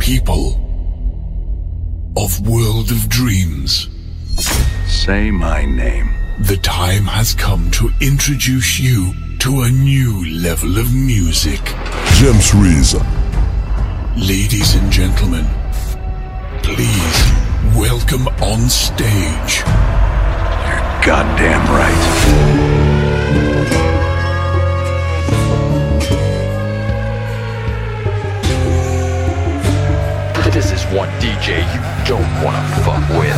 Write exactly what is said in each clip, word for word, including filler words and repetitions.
people of World of Dreams. Say my name. The time has come to introduce you to a new level of music. James Reese. Ladies and gentlemen, please welcome on stage. You're goddamn right. This is one D J you don't wanna fuck with.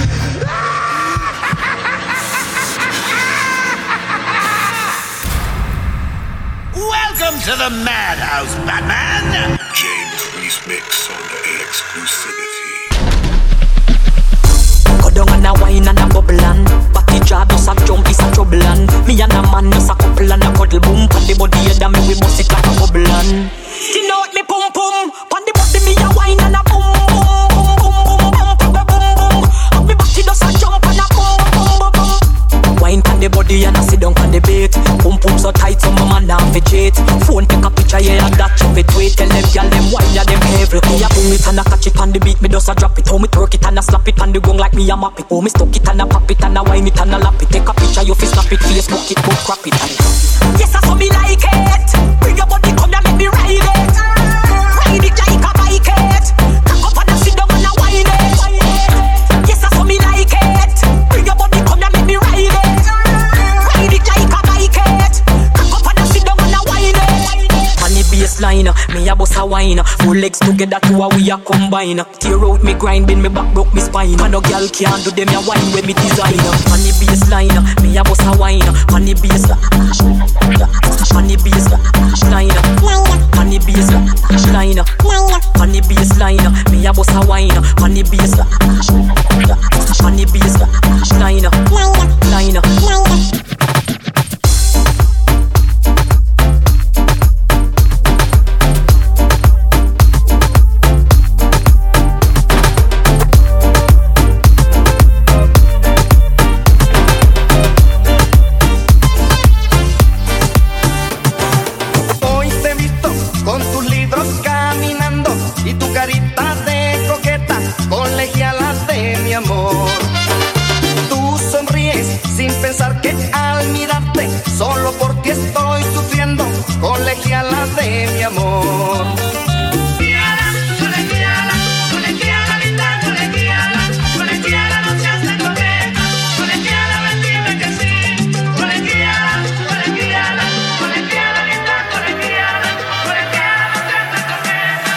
Welcome to the Madhouse, Batman! James Reese mix on the exclusivity. Go down and a wine and a bubble and Batty jaw does a jump is a trouble and me and a man does a couple and a cuddle boom. Pan the body head and me we bust it like a bubble and you know what me pum pum. Pan the body me a wine and a boom boom boom boom boom boom boom boom. And me batty does a jump and a boom boom boom. Wine pan the body and a sit down pan the bait. Pum pum so tight so my man now fi cheat. Phone take a picture yeah that chop it wait. Tell them gyal them wine ya them every. Me a boom it and a catch it pan the beat. Me does a drop it. How me twerk it and a slap it pan the gong like me a map it. Oh me stuck it and a pop it and a wine it and a lap it. Take a picture you fi snap it. Facebook it go crap it and yes I saw me like it. Bring your body come and let me ride it. Ride it like a bike it. Cock up and a sit down and a wine it. Yes I saw me like it. Bring your body come and let me ride it. Ride it like a bike it. Cock up and a sit down and a wine it. On the baseline, me a bust a wine. Four legs together two a we a combine. Tear out me grind, bend me back, broke me spine. And no girl can't do them a wine with me design. On the baseline, me a bust a wine. On the baseline, on the baseline, on the baseline, on the baseline, me a bust a wine. On the baseline, on the baseline, line. Solo por ti estoy sufriendo, colegiala de mi amor. Colegiala, colegiala, colegiala, linda, colegiala, colegiala, no seas tan coqueta, colegiala, ven dime que sí. Colegiala, colegiala, colegiala, linda, colegiala, colegiala, no seas tan coqueta,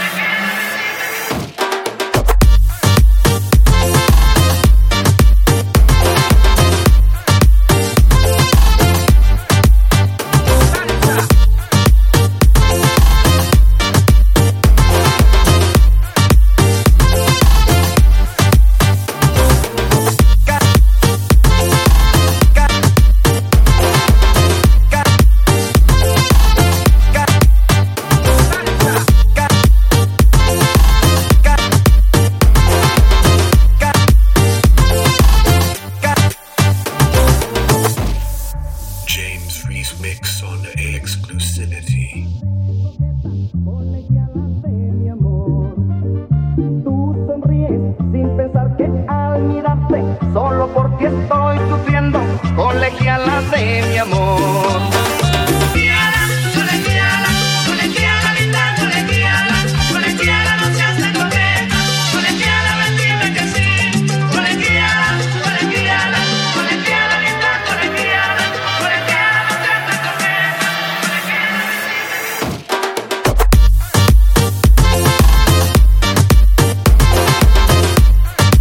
solo por ti estoy sufriendo, colegiala de mi amor. Colegiala, colegiala, colegiala, linda, colegiala, colegiala, no seas tan coqueta, colegiala, ven dime que sí. Colegiala, colegiala, colegiala, linda, colegiala, colegiala, no seas tan coqueta,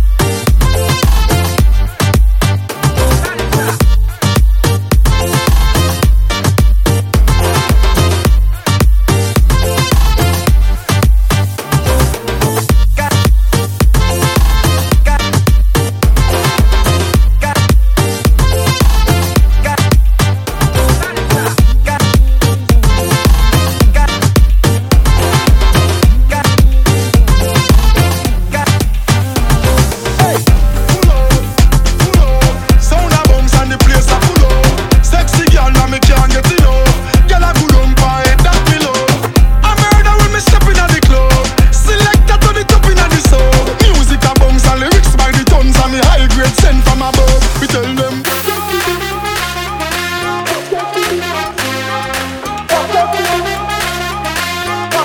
colegiala.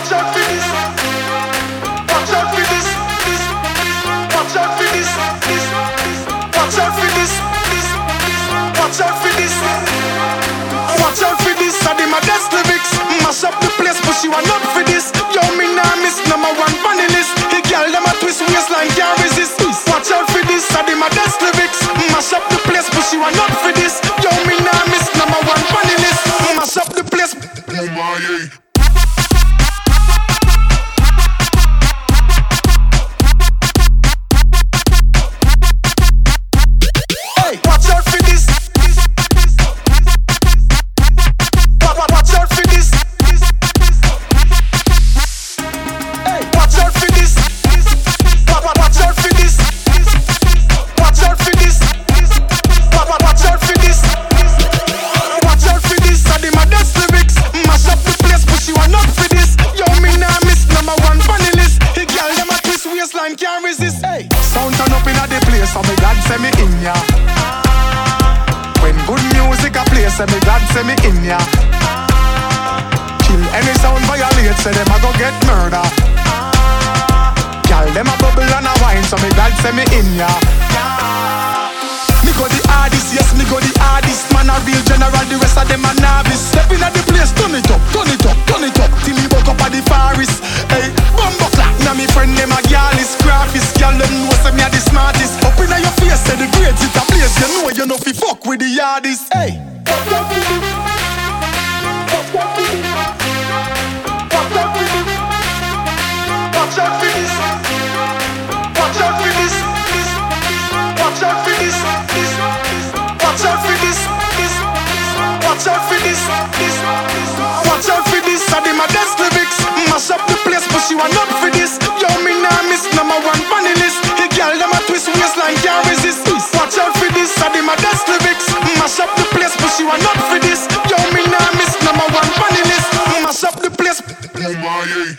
Watch out for this. Watch out for this. This. Watch out for this. This. Watch out for this. This. Watch out for this. Watch out for this. I did my best lyrics. Mash up the place, but she want not for this. Yo, me nah miss number one funny list. He girl them a twist waistline can't resist. Watch out for this. I did my best lyrics. Mash up the place, but she want not for this. Yo, me nah miss number one funny list. Mash up the place. Oh my. Say me God say me in ya. Kill any sound violate, say them a go get murder. Girl them a bubble and a wine, so me God say me in ya. Me go the hardest, yes me go the hardest. Man a real general, the rest of them a novice. Step in at the place, turn it up, turn it up, turn it up till me woke up at the forest. Hey, bumbo clap, now me friend them a gyalist, graphist. Girl them know say me a the smartest. Up inna your face, say the grades it a place. You know you know fi fuck with the hardest. Hey. Watch out for this. Watch out for this. Watch out for this. Watch out for this. Watch out for this. Watch out for this. Watch out for this. Watch out for this. I did my best lyrics. Mash up the place, but she want not for this. Yo, me nah miss number one funny list. Hey girl, them a twist waistline can't resist. Watch out for this. I did my best lyrics. Mash up the place, but she want not for this. Yo, me nah miss number one funny list. Mash up the place. Oh my.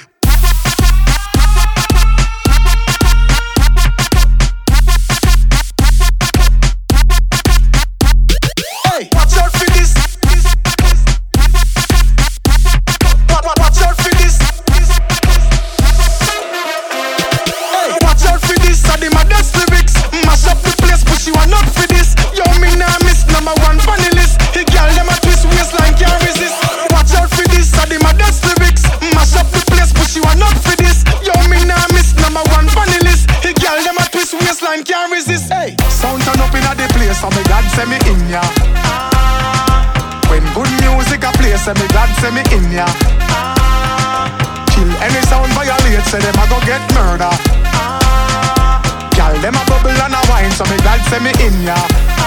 Can't resist. Hey. Sound turn up inna the place, so me God say me in ya. When good music a play, say me God say me in ya. Kill any sound violate, say them a go get murder. Girl them a bubble and a wine, so me God say me in ya.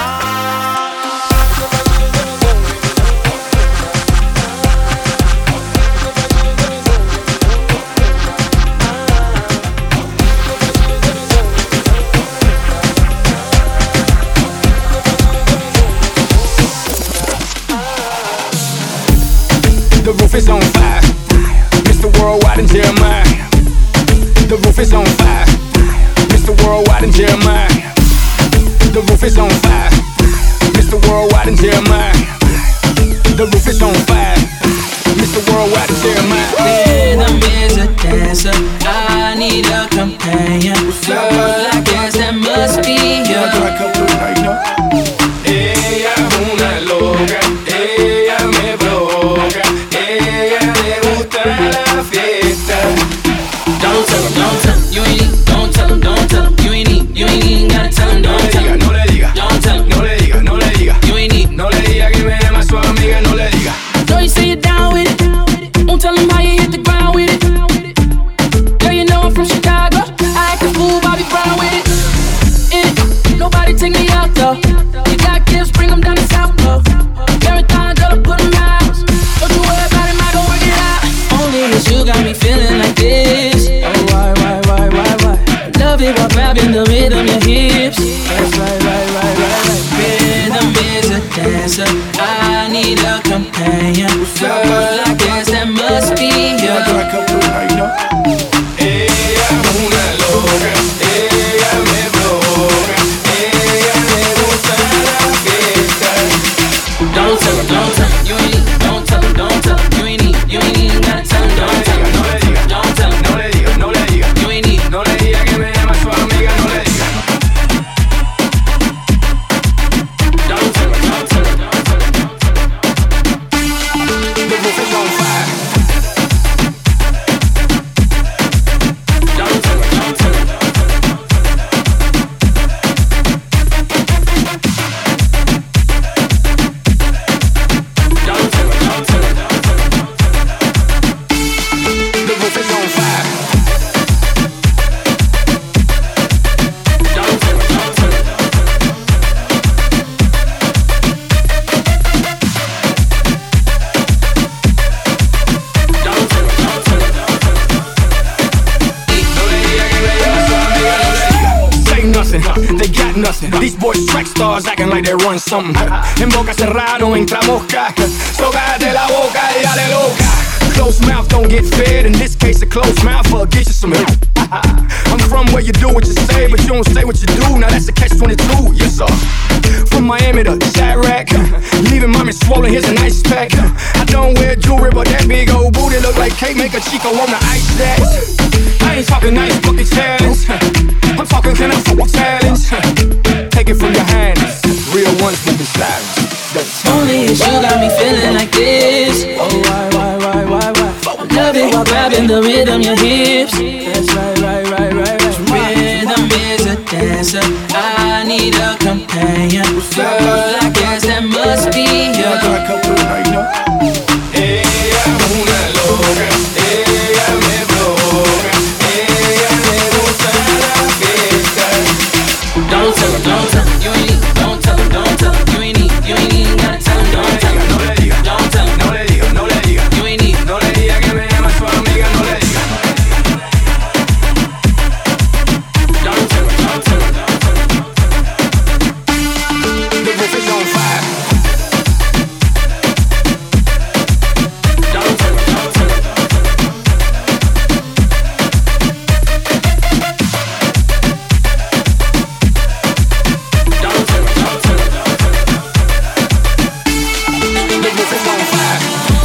The roof is on fire. Mister Worldwide and Jeremiah. The roof is on fire. Mister Worldwide and Jeremiah. The roof is on fire. Mister Worldwide and Jeremiah. The roof is on fire. Mister Worldwide and Jeremiah. Rhythm is a dancer. I need a companion. Girl, I guess that must be you. Ella es una loca. Ella me provoca. Don't tell him, don't tell him, you ain't need. Don't tell him, don't tell him, you ain't need. You ain't even gotta tell him, don't tell him. No le diga, don't tell him, no le diga, no le diga. You ain't need. No le diga que me llama su amiga, no le diga. Know you say you're down with it. Won't tell him how you hit the ground with it. nothing, they got nothing. These boys track stars acting like they run something. En boca cerrada no entra mosca, so cállate la boca y dale loca. Closed mouth don't get fed, in this case a closed mouth will get you some help. I'm from where you do what you say, but you don't say what you do. Now that's a catch twenty-two, yes sir. From Miami to Chirac, leaving mommy swollen, here's an ice pack. I don't wear jewelry, but that big old booty look like cake, make a Chico wanna ice that. I ain't talking nice bucket challenge, I'm talking can I fuck a challenge. Take it from your hands, real ones moving silence. Only you got me feeling like this. Oh why, why, why, why, why? Love it while grabbing the rhythm, your hips. That's right, right, right, right, right. Rhythm is a dancer, I need a companion. Girl, I guess that must be you. Ella es una loca, ella me provoca, ella me gusta la fiesta. Don't tell her, don't tell her, you ain't need. Don't tell her, don't tell her, you ain't need. You ain't even gotta tell her, don't tell her. No le diga, Don't tell her, no le diga, no le diga. you ain't need. No le diga que me llama su amiga, no le diga. Don't tell her, don't tell her, don't tell her. The roof is on fire. Don't tell her, don't tell her. Don't tell her, don't tell her. The roof is on fire.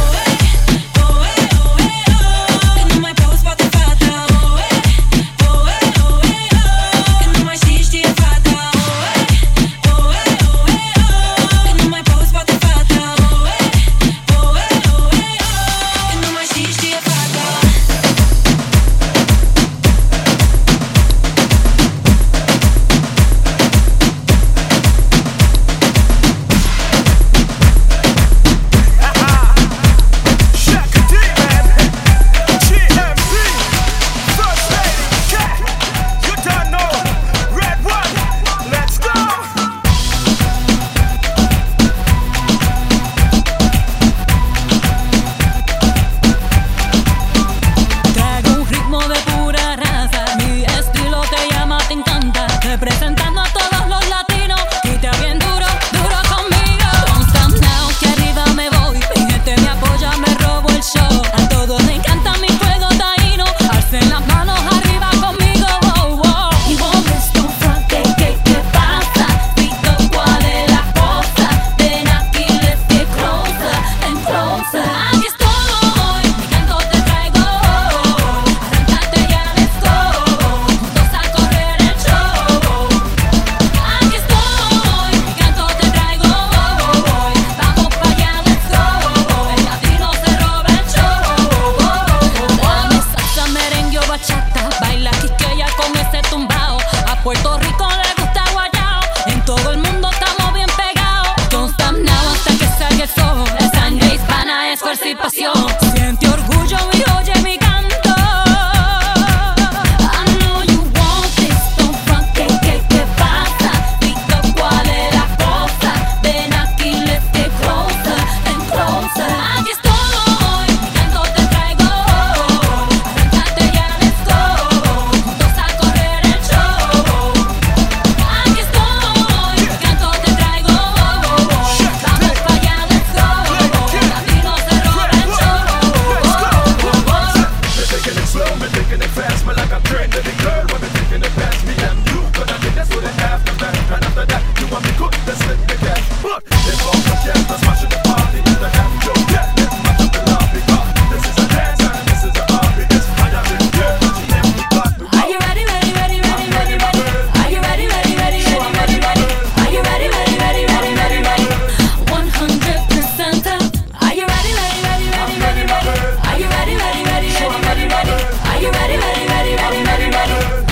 Siente orgullo y oye mi canto. I know you want this, don't front, ¿qué, qué, qué pasa? Pica, ¿cuál es la cosa? Ven aquí, let's get closer and closer. Aquí estoy, mi canto te traigo. Arráncate ya, let's go. Juntos a correr el show. Aquí estoy, mi canto te traigo. Vamos pa' allá, let's go. Latino se roba el show. Are you ready, ready, ready, ready, ready, ready? Are you ready, ready, ready, ready, ready, ready? Are you ready, ready, ready, ready, ready, ready? one hundred percent up. Are you ready, ready, ready, ready, ready, ready? Are you ready, ready, ready, ready, ready, ready? Are you ready, ready, ready, ready, ready, ready?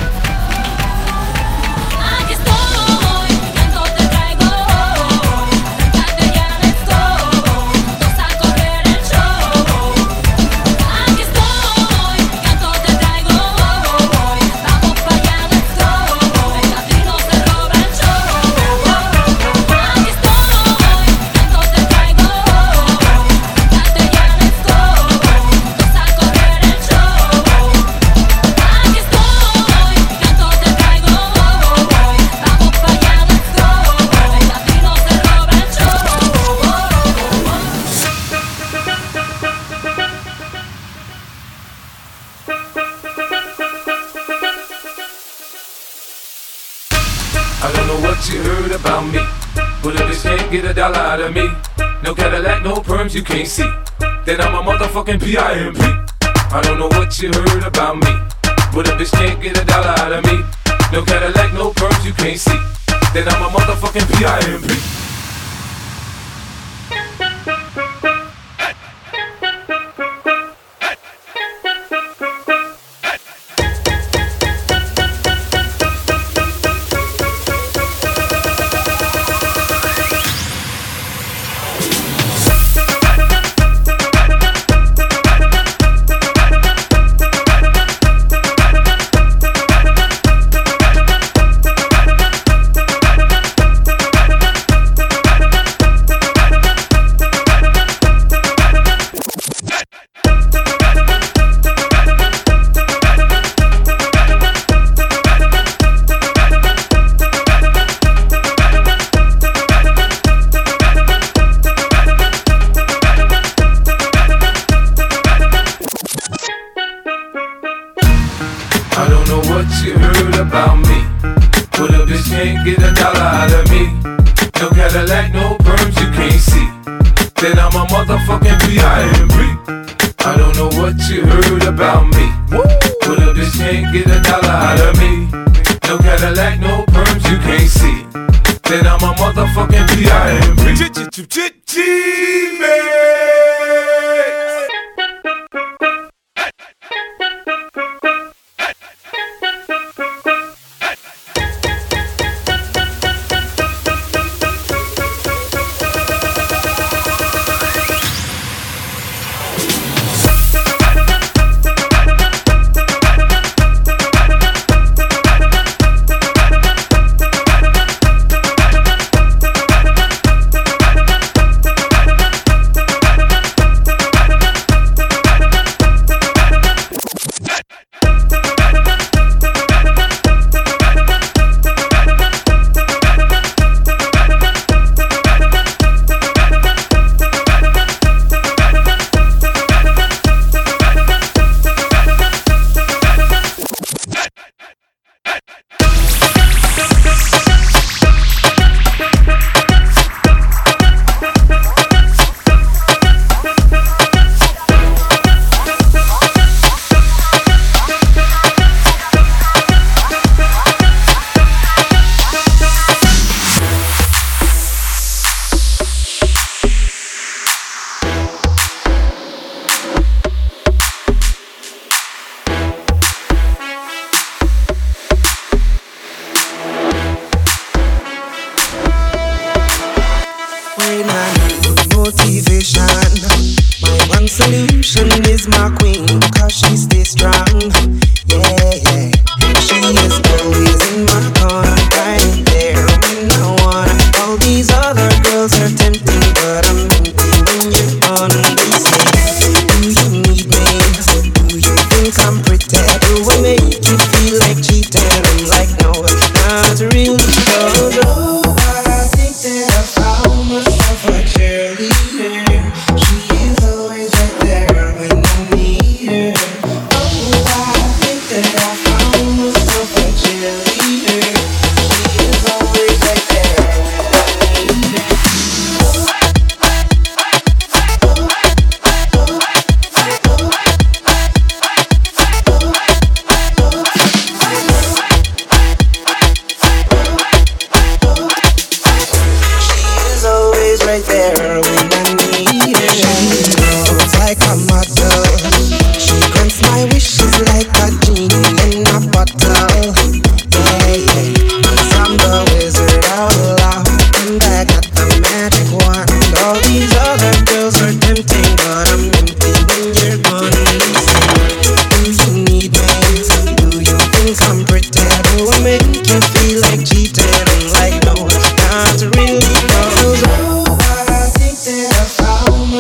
don't know what you heard about me, but a bitch can't get a dollar out of me. No Cadillac, no perms, you can't see. Then I'm a motherfucking P I M P. I don't know what you heard about me, but a bitch can't get a dollar out of me. No Cadillac, no perms, you can't see. Then I'm a motherfucking P I M P.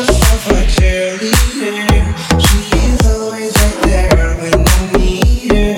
She is always right there when I need her.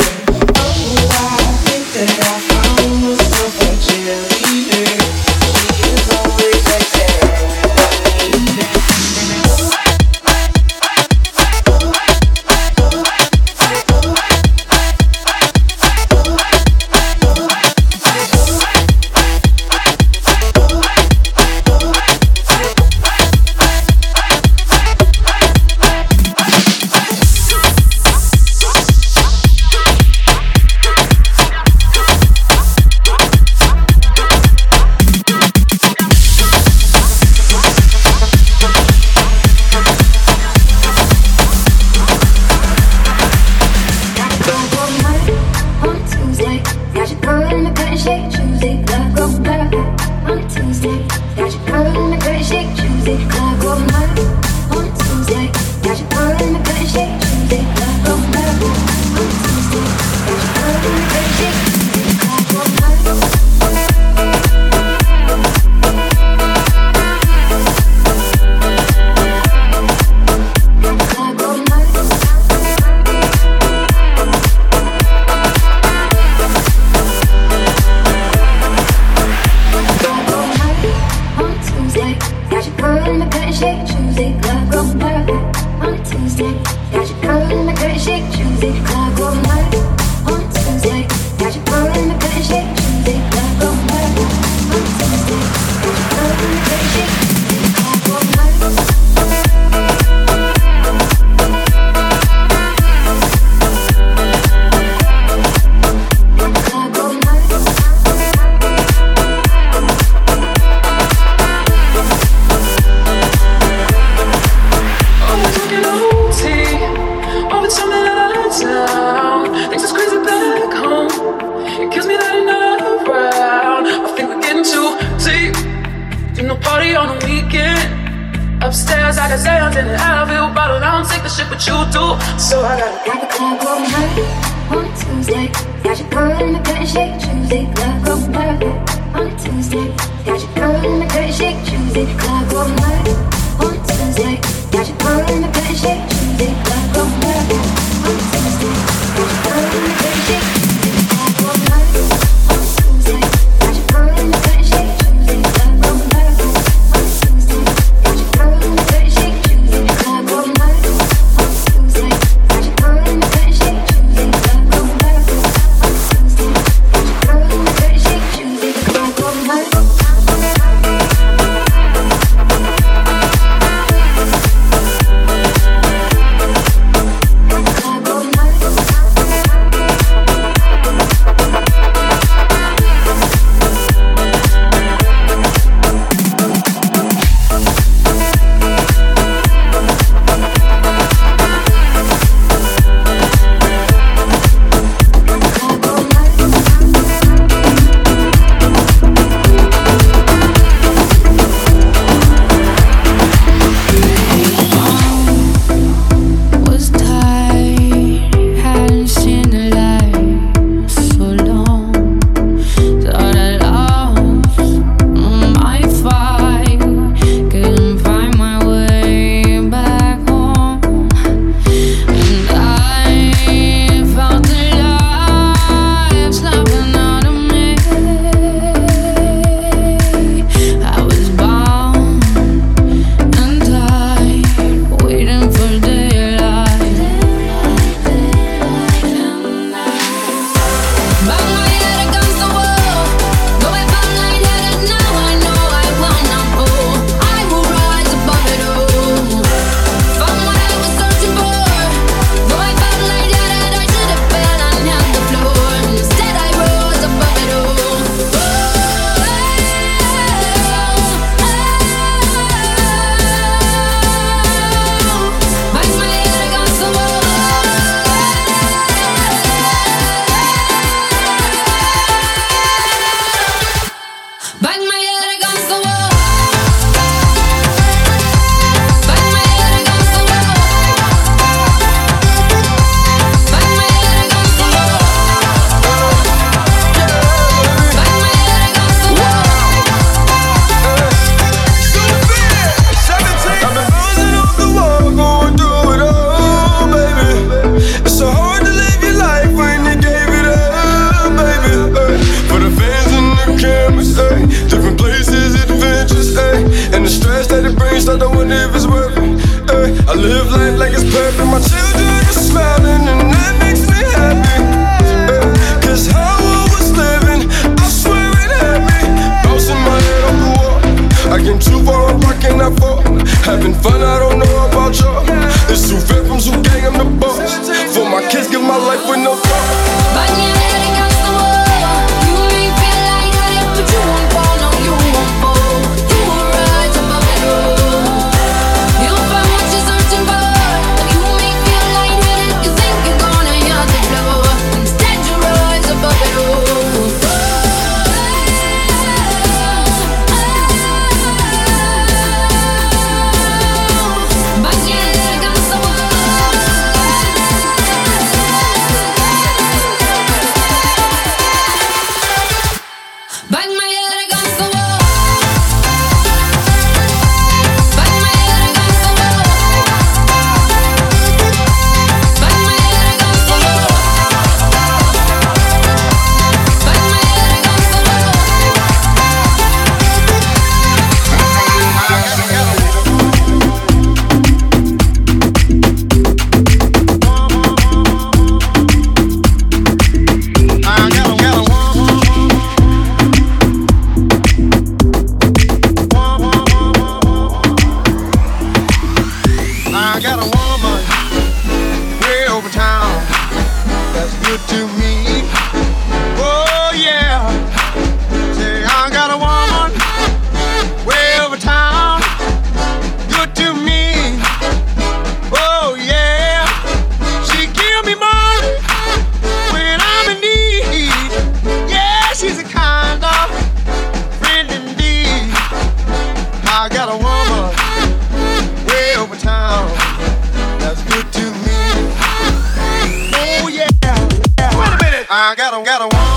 good to me. Oh yeah, say I got a woman way over town, good to me. Oh yeah, she give me money when I'm in need. Yeah, she's a kind of friend indeed. I got a woman way over town that's good to me. Oh yeah, yeah. Wait a minute, I got a got a woman.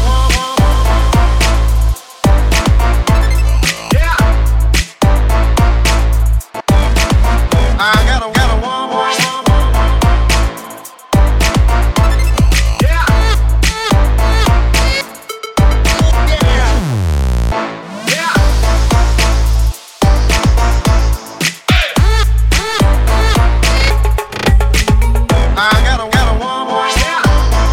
I got a, got a woman. Yeah. Yeah. Yeah. I got a, got a woman. Yeah.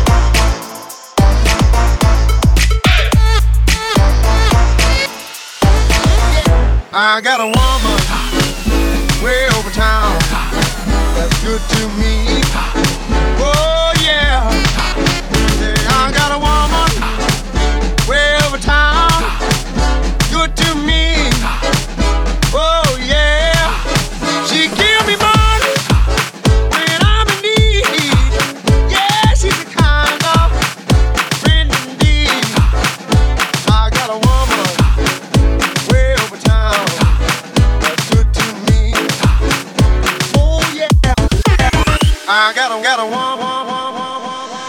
I got a woman way over town that's good to me. Oh yeah, yeah, I got a woman way over town, good to me. Oh yeah, she give me money when I'm in need. Yeah, she's a kind of friend indeed. I got a woman way over town that's good to me. Oh yeah, I got a got a woman.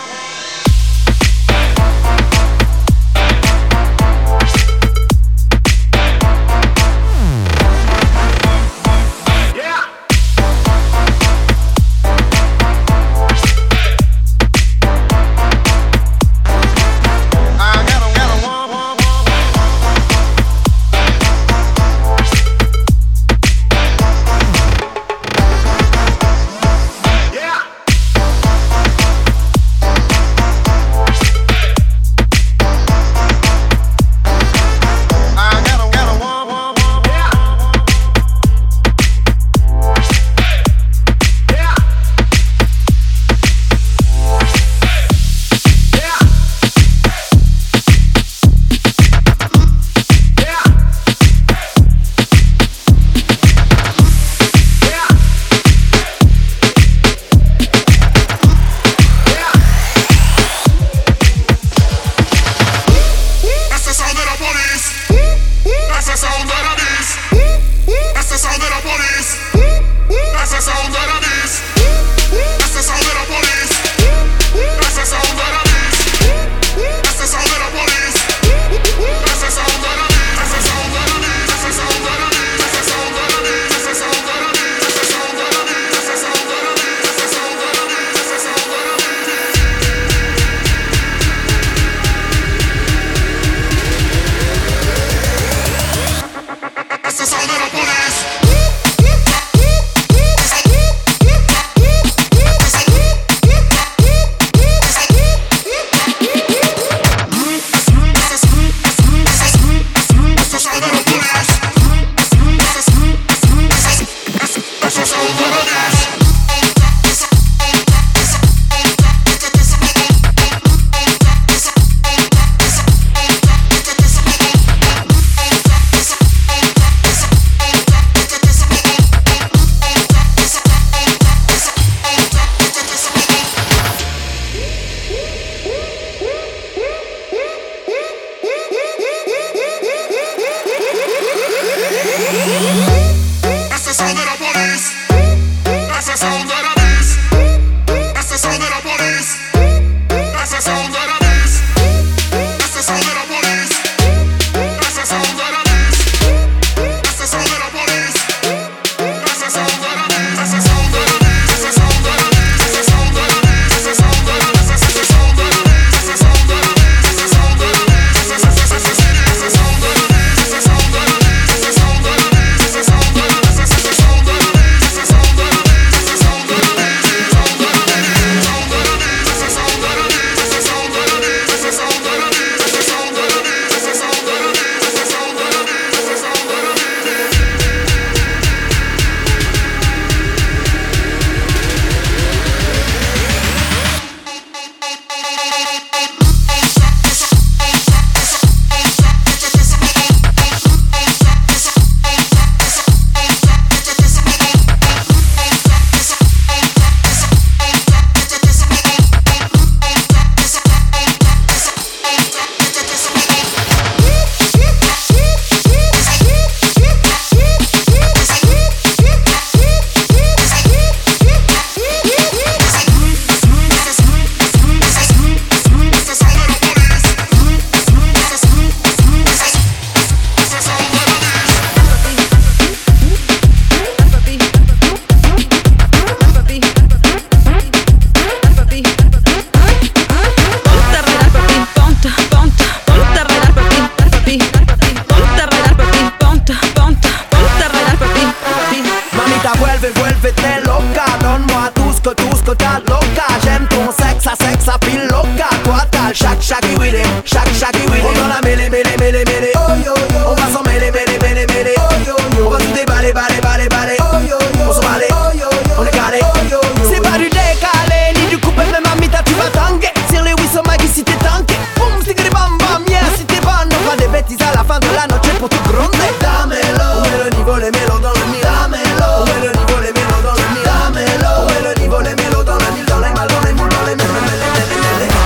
ce que tout ce que t'as de loca. J'aime ton sexe, ça sexe, ça pile loca. Toi t'as le chac chac with it, chac chac with it. On dans la mêlée, mêlée, mêlée, mêlée. Oh yo yo, on va s'en mêler, mêler, mêler, mêler. Oh yo yo, on va tout déballer, baller, baller, baller. Oh yo yo, on s'en baller. Oh yo yo, on est calé. Oh yo yo, c'est pas du décalé ni du coupé, même mamita tu vas tanguer. Tire les whistle Maggie si t'es tanké. Boum, stick des bam bam, yeah si t'es bonne. On fera des bêtises à la fin de la noche pour tout gronder. Damelo, on met le niveau, les mélos dans le mille. Damelo, on met le niveau, les mélos dans le mille. Damelo, on met le niveau, les mélos dans le mille. Dans les mal, dans les moules, dans les mêles, mêles, mêles, mêles, mêles.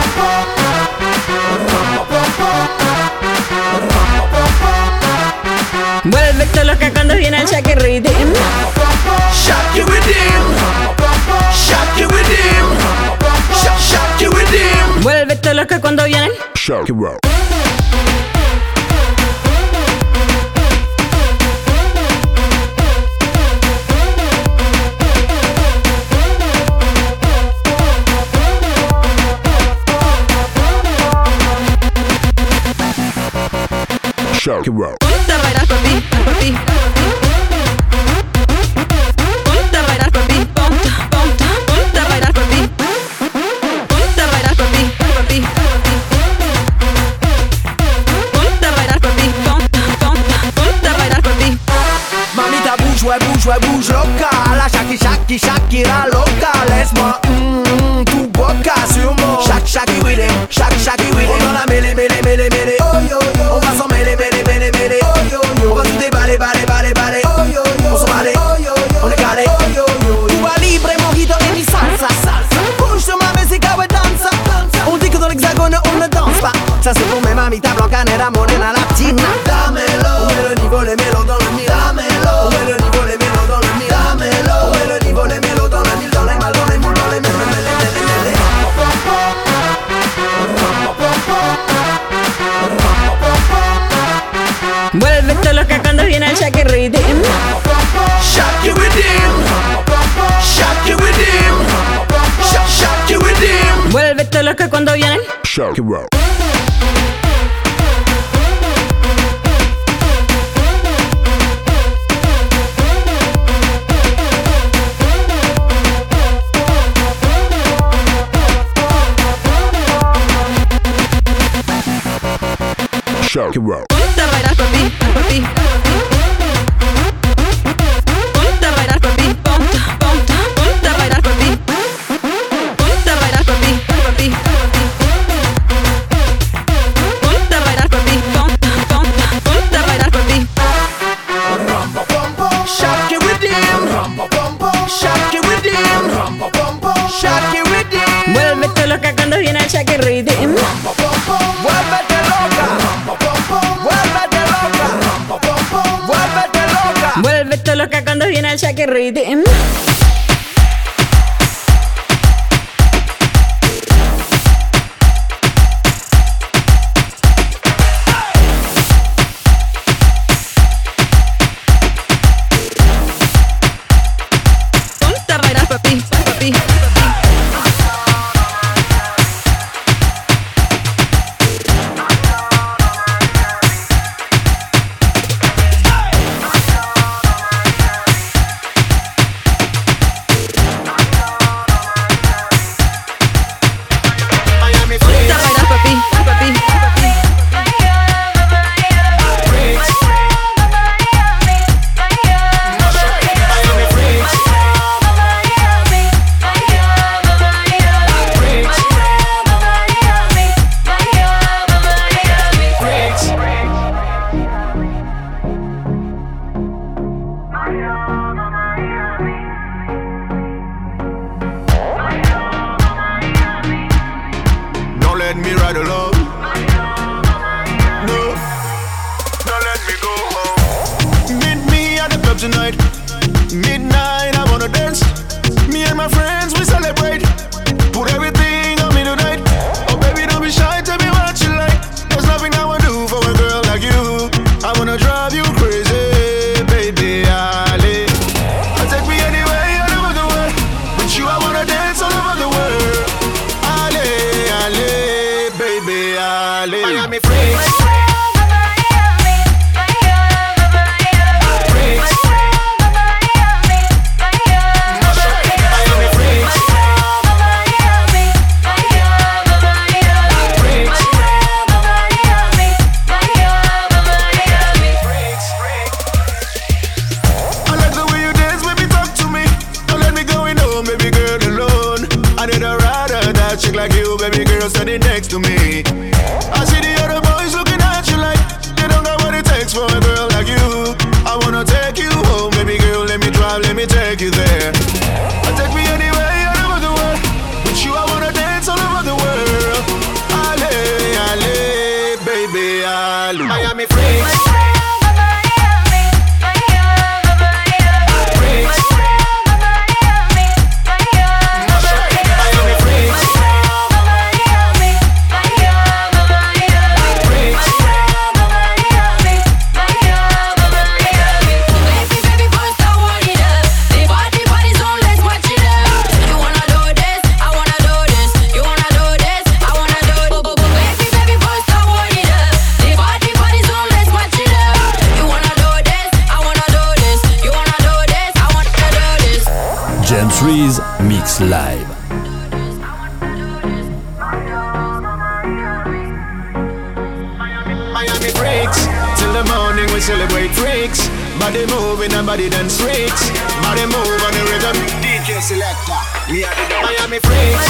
Vuélvete loca cuando viene el Shake Rhythm. Shake it with him. Shake it with him. Shake it with him. Vuélvete loca cuando viene el Shake it out. Shake it out. Ponte a bailar papi, papi. Ponte a bailar papi, ponte, ponte, ponte a bailar papi. Ponte a bailar papi, papi. Ponte a bailar papi, ponte, ponte, ponte a bailar papi. Mamita bouge, ouais bouge, ouais bouge loca. La Shaki Shaki Shakira loca. Laisse-moi mm, tout boca sur moi. Shaki Shaki with him, Shaki Shaki with him. On dans la mêlée, mêlée, mêlée, mêlée. Oh yo yo, on va s'en mêler, mêler, mêler, mêler. Oh yo yo, on va tout déballer, baller, baller, baller. Oh yo yo, on s'en baller. Oh yo yo, on est calé. Oh yo yo, Cuba libre, mojito et mi salsa, salsa. Bouge sur ma musique, ouais dansa, dansa. On dit que dans l'hexagone on ne danse pas. Ça c'est pour mes mamitas blanca, nera, morena, latina. Damelo, on met le niveau, les mélos dans le mille. Damelo, on met le niveau, les mélos dans le mille. Damelo, on met le niveau, les mélos dans le mille. Dans les mal, dans les moules, dans les mêles, mêles, mêles, mêles, mêles. Vuélvete loca cuando viene el Shake Rhythm. Shake it with him. Shake it with him. Shake it with him. Vuélvete loca cuando viene el Shake it out. Shake it out. Ponte a bailar papi, papi. Ponte a bailar papi, ponte, ponte, ponte a bailar papi. Ponte a bailar papi, papi. Ponte a bailar papi, ponte, ponte, ponte a bailar papi. Shake it with him. Shake it with him. Shake it with him. Vuélvete loca cuando viene el Shake Rhythm. Vuélvete loca. Vuélvete loca. Vuélvete loca. Vuélvete loca cuando viene el Shake Rhythm. Ponte a bailar papi, papi. let me ride along. No, don't let me go home. Meet me at the club tonight. Midnight, I wanna dance. Me and my friends, we celebrate. Put everything on me tonight. Oh baby, don't be shy, tell me what you like. There's nothing I wanna do for a girl like you. I wanna drive you crazy, baby, Ali. Take me anywhere all over the world. With you, I wanna dance all over the world. Ali, Ali, baby, Ali. Miami freaks. Freaks. Miami freaks. next to me. I see the other boys looking at you like you don't got what it takes for a girl like you. I wanna take you home, baby girl, let me drive, let me take you there. Take me anywhere all over the world. With you I wanna dance all over the world. Ale, ale, baby, ale. Miami freaks. Trees Mix Live. Miami breaks till the morning we celebrate freaks. Body moving and body dance freaks. Body move on the rhythm. D J selector, we are the Miami freaks.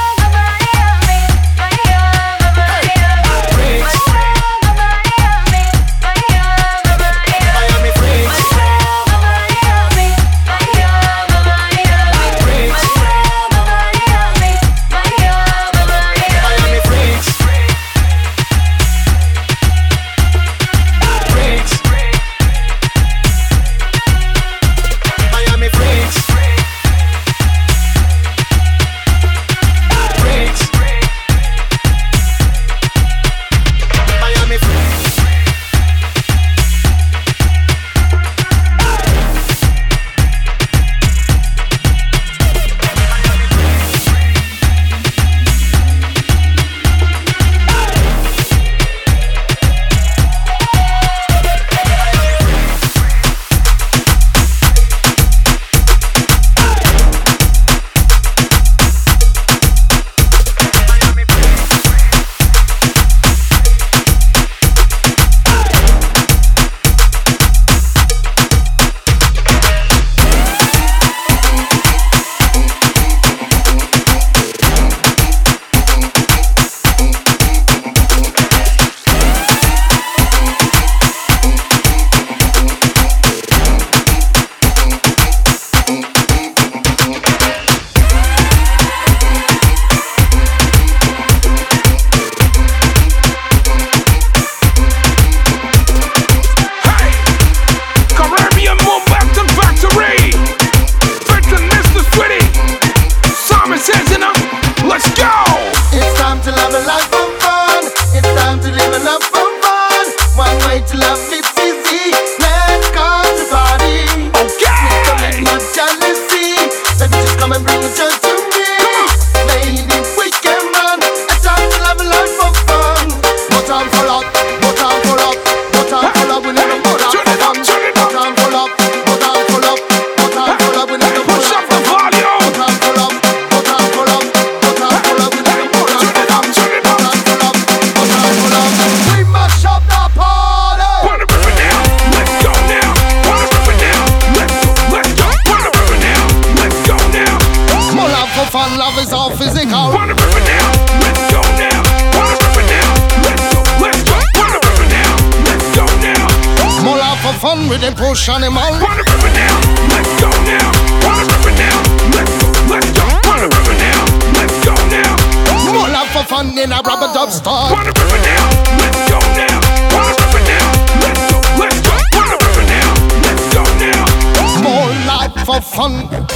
Fun with them push animal. Wanna rip it now? Let's go now. Wanna rip it now? Let's go, let's go. Wanna rip it now? Let's go now. More love for fun in a rubber dub store. Wanna rip it now? Let's go now. Wanna rip it now? Let's go, let's go. Wanna rip it now? Let's go now. More life for fun.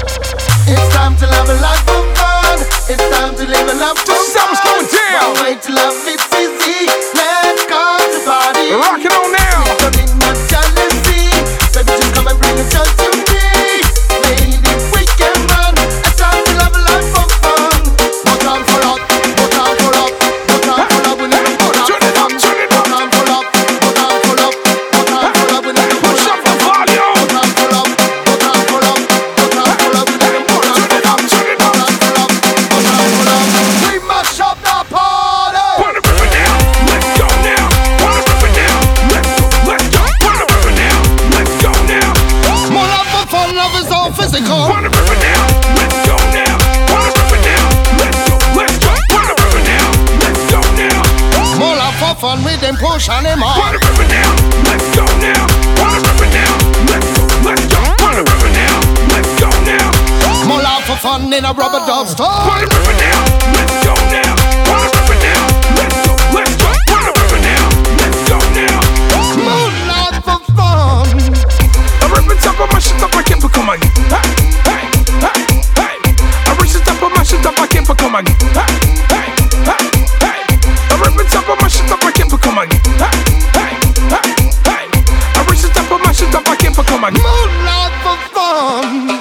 It's time to live a life for fun. It's time to live a life for fun. Something's going down. One way to love it's easy. Let's go to party. Rock it on now. Baby, just come and bring a joy to me. Lady, we can run. A time to live a life for fun. No time for love, no time for love, no time for love. We need to put up for fun. No time for love, no time for love, no time for love. We need to push up the volume. No time for love, no time for love, no time for love. We need to put up for fun. No time for love, no time for love. We must shop the party. Wanna rip it now? Let's go now. Wanna rip it now? Let's go, let's go. Wanna rip it now? Let's go now. More love for fun, love is all physical. Wanna rip it now? Let's go now. Wanna rip it now? Let's go, let's go. Wanna rip it now? Let's go fun with them push on them on. Wanna rip it now, let's go now. Wanna rip it now, let's go, let's go. Wanna rip it now, let's go now. More love for fun in a rubber dub store. Wanna rip it now, let's go now. Wanna rip it now, let's go, let's go. Wanna rip it now, let's go now. More love for fun. I rip it up on my shit up, I can't become a hey, hey, hey, hey. I reach the top of my shit up, I can't become a hey, hey, hey, hey. I rip it up on my shit up, I can't become a hey, hey, hey, hey. I reach the top of my shit up, I can't become a more love for fun.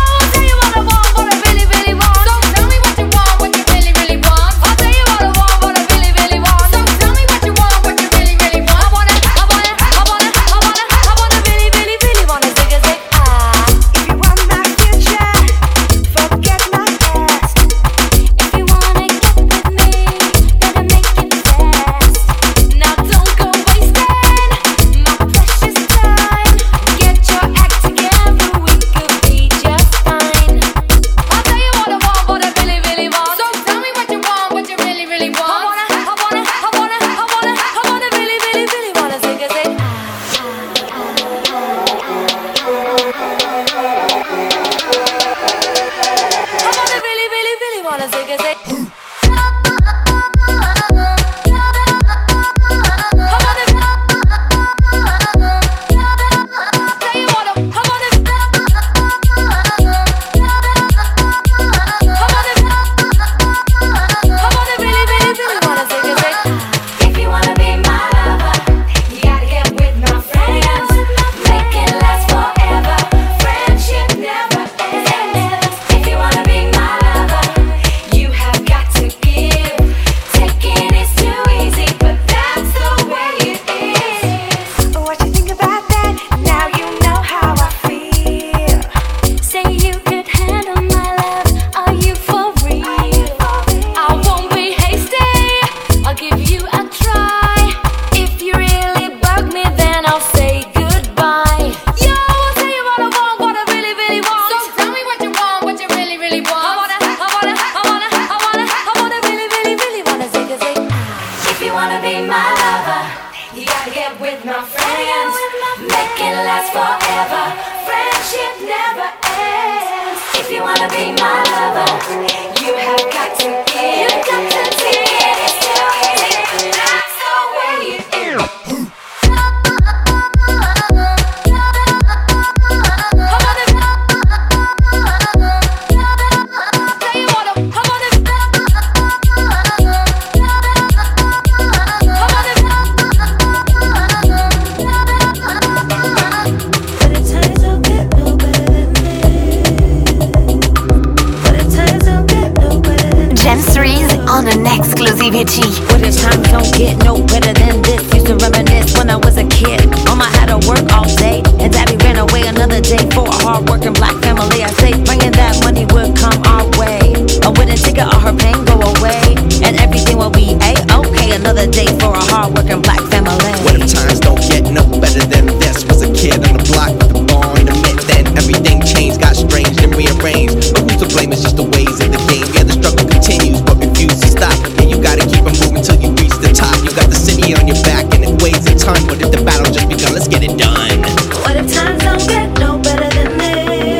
But the times don't get no better than this. Used to reminisce when I was a kid. Mama had to work all day, and daddy ran away another day for a hard-working black family. I say bringing that money would come our way. A winning ticket, all her pain go away, and everything will be a-okay. Another day for a hard-working black family. What if times don't get no better than this? Was a kid on the block with the ball in the mid. Then everything changed, got strange and rearranged. But who's to blame? It's just the ways of the game. Yeah, the struggle continues, but refuse to stop. And you gotta keep on moving till you reach the top. You got the city on your back and it weighs a ton. But if the battle just begun, let's get it done. What if times don't get no better than this?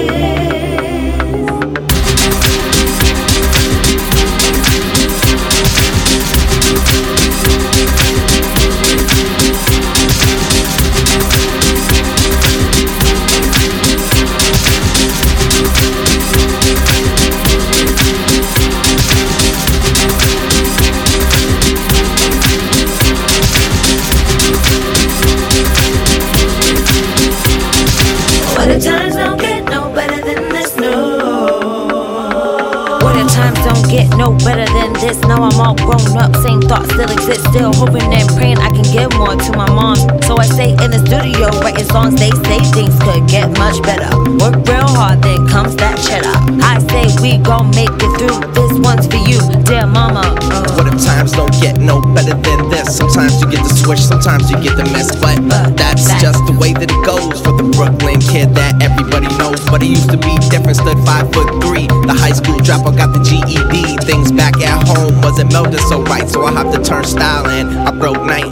What if times don't get no better than this? No. What if times don't get no better than this? Now I'm all grown up, same thoughts still exist. Still hoping and praying I can give more to my mom. So I stay in the studio writing songs. They say things could get much better. Work real hard, then comes that cheddar. I say we gon' make it through. This one's for you, dear mama. uh. What if times don't get no better than this? Sometimes you get the switch, sometimes you get the mess. But uh, that's just the way that it goes for the Brooklyn kid that everybody knows. But he used to be different, stood five foot three. The high school dropout got the G E D. Things back at home wasn't melding so right, so I hopped the turnstile and I broke night.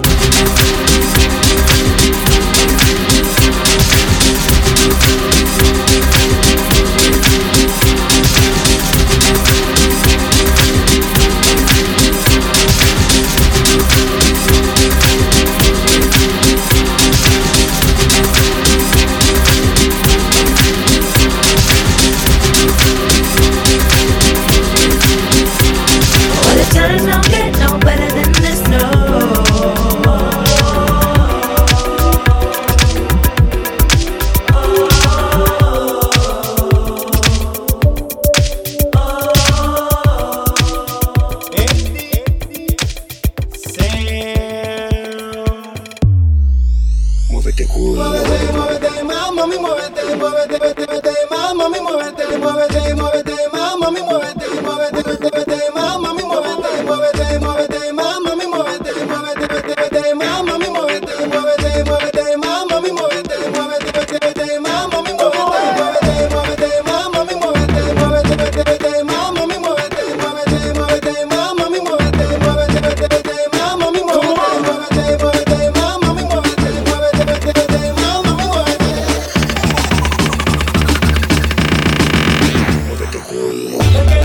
Times don't get no better than this, no. Muévete culo. Muévete, muévete, mami, muévete, muévete, muévete, mami, muévete, muévete, muévete, mami, muévete, muévete, muévete, mami, muévete, muévete, muévete, mami, muévete, muévete, muévete, mami, muévete, muévete, muévete, mami, muévete, muévete, muévete, mami, muévete, muévete, muévete, mami, muévete, muévete, muévete, mami, muévete, muévete, muévete, mami, muévete, muévete, muévete, mami, muévete, muévete, mami, muévete.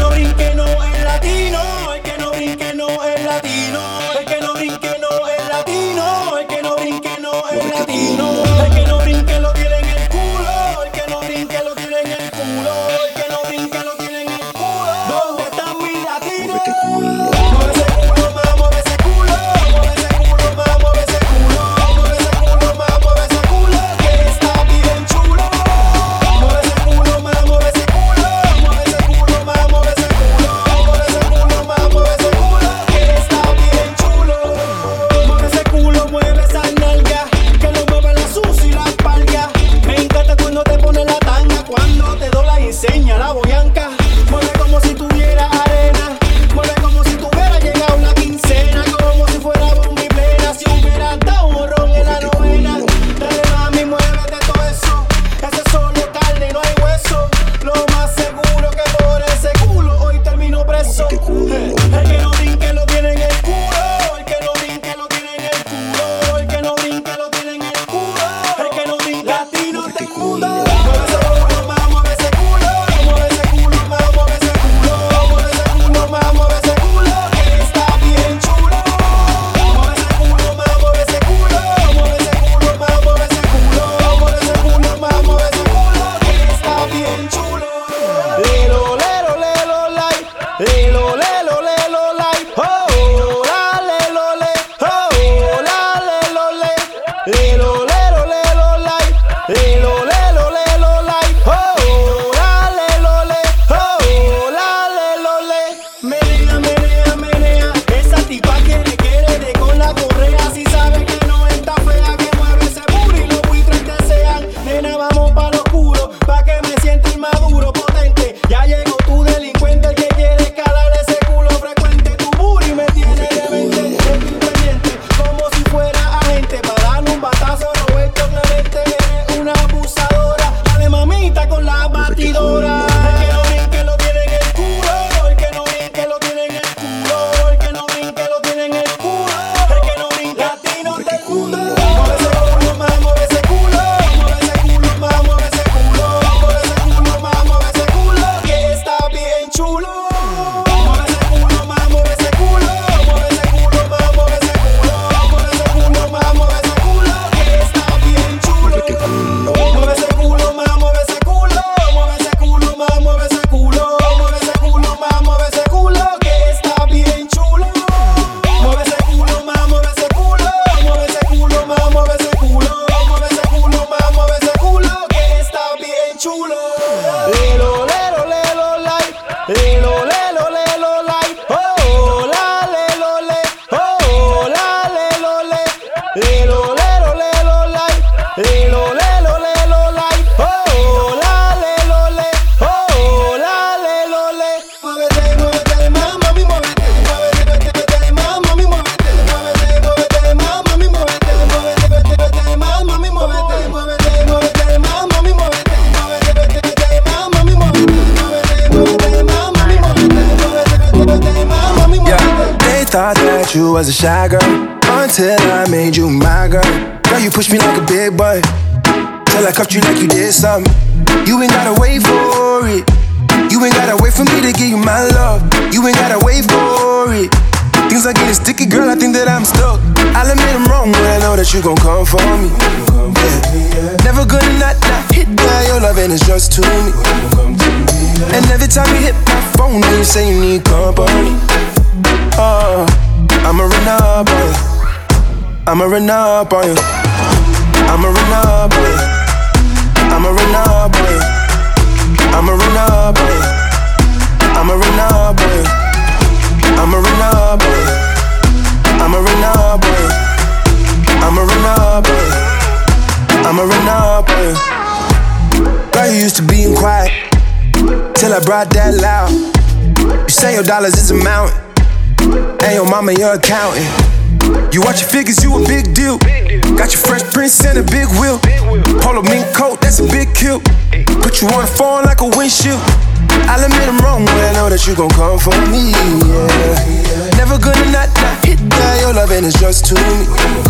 was a shy girl until I made you my girl. Girl, you pushed me like a big boy till I cuffed you like you did something. You ain't gotta wait for it. You ain't gotta wait for me to give you my love. You ain't gotta wait for it. Things are getting sticky, girl, I think that I'm stuck. I'll admit I'm wrong, but I know that you gon' come for me. Yeah. Never gonna not, not hit that. Your loving is just to me. And every time you hit my phone, then you say you need company. Oh, I'ma run up on you. I'ma run up on you. I'ma run up on you. I'ma run up on you. I'ma run up on you. I'ma run up on you. I'ma run up on you. I'ma run up on you. I'ma run up on you. I'ma run up on you. Girl, you used to being quiet till I brought that loud. You say your dollars is a mountain, and your mama your accountant. You watch your figures, you a big deal. Got your Fresh Prince and a big wheel. Polo mink coat, that's a big kill. Put you on the phone like a windshield. I'll admit I'm wrong, but I know that you gon' come for me, yeah. Never gonna not, not hit that. Your loving is just to me.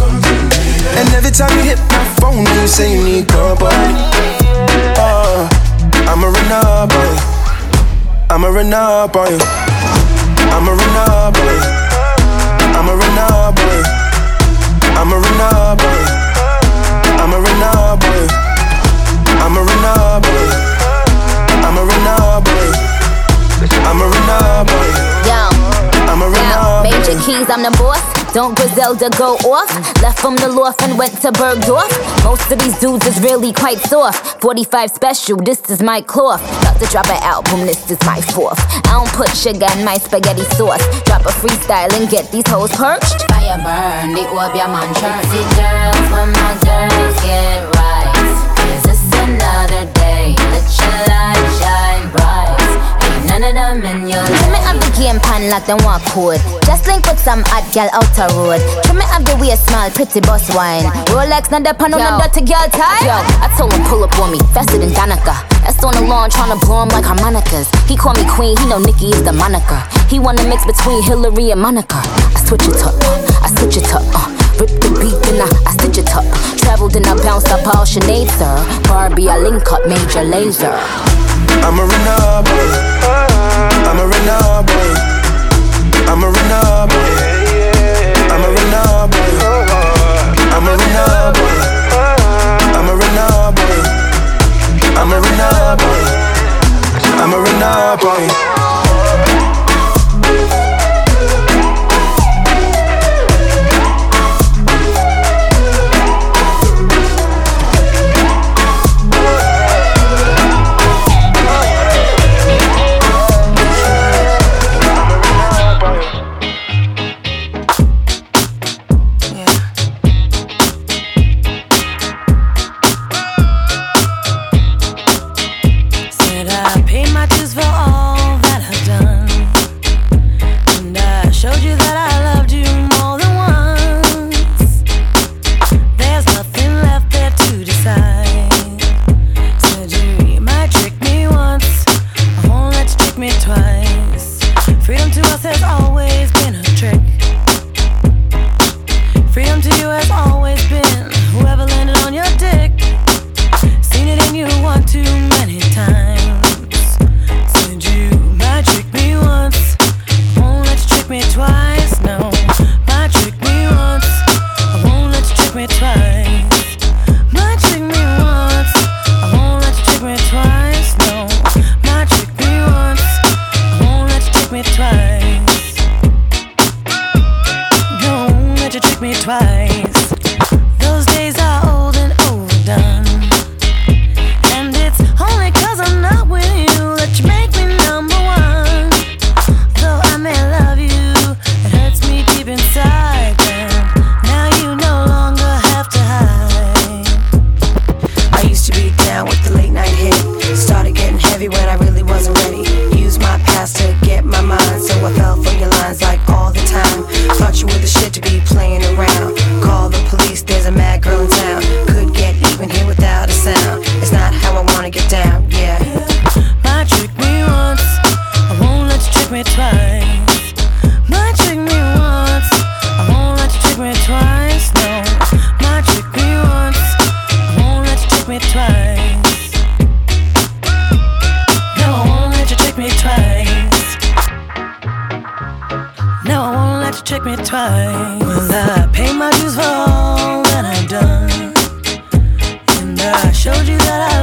And every time you hit my phone, then you say you need company. Oh, I'ma run up on you. I'ma run up on you. I'ma run up on you. I'ma run up on you. I'ma run up on you. I'ma run up on you. I'ma run up on you. I'ma run up on you. I'ma run up on you. Yo, I'ma run yo, up on Major you. Keys, I'm the boss. Don't Griselda go off. Left from the loft and went to Bergdorf. Most of these dudes is really quite soft. forty-five special, this is my cloth. About to drop an album, this is my fourth. I don't put sugar in my spaghetti sauce. Drop a freestyle and get these hoes perched. Fire burn, the orb your man church. See girls, when my girls get right. Is this another day? Let your light shine bright. Ain't none of them in your life. Trim me up the game pan like them walk code. Just link with some hot gal out the road. Trim me up the way smile, pretty boss wine. Rolex, not the pan on the dirty girl tie. Yo, I told him pull up on me, faster than Danica. That's on the lawn, tryna blow him like harmonicas. He call me queen, he know Nicki is the moniker. He wanna mix between Hillary and Monica. I switch it up, uh, I switch it up, uh. Rip the beat and I, I stitch it up. Traveled and I bounced up all Sinead, sir. Barbie, I link up Major Lazer. I'ma run up on you. I'ma run up on you. I'ma run up on you. I'ma run up on you. I'ma run up on you. I'ma run up on you. I'ma run up on you. I'ma run up on you. Thought you were the shit to be playing around. Call trick me twice, no. Might trick me once, I won't let you trick me twice. No, I won't let you trick me twice. No, I won't let you trick me twice. Well, I pay my dues for all that I've done, and I showed you that I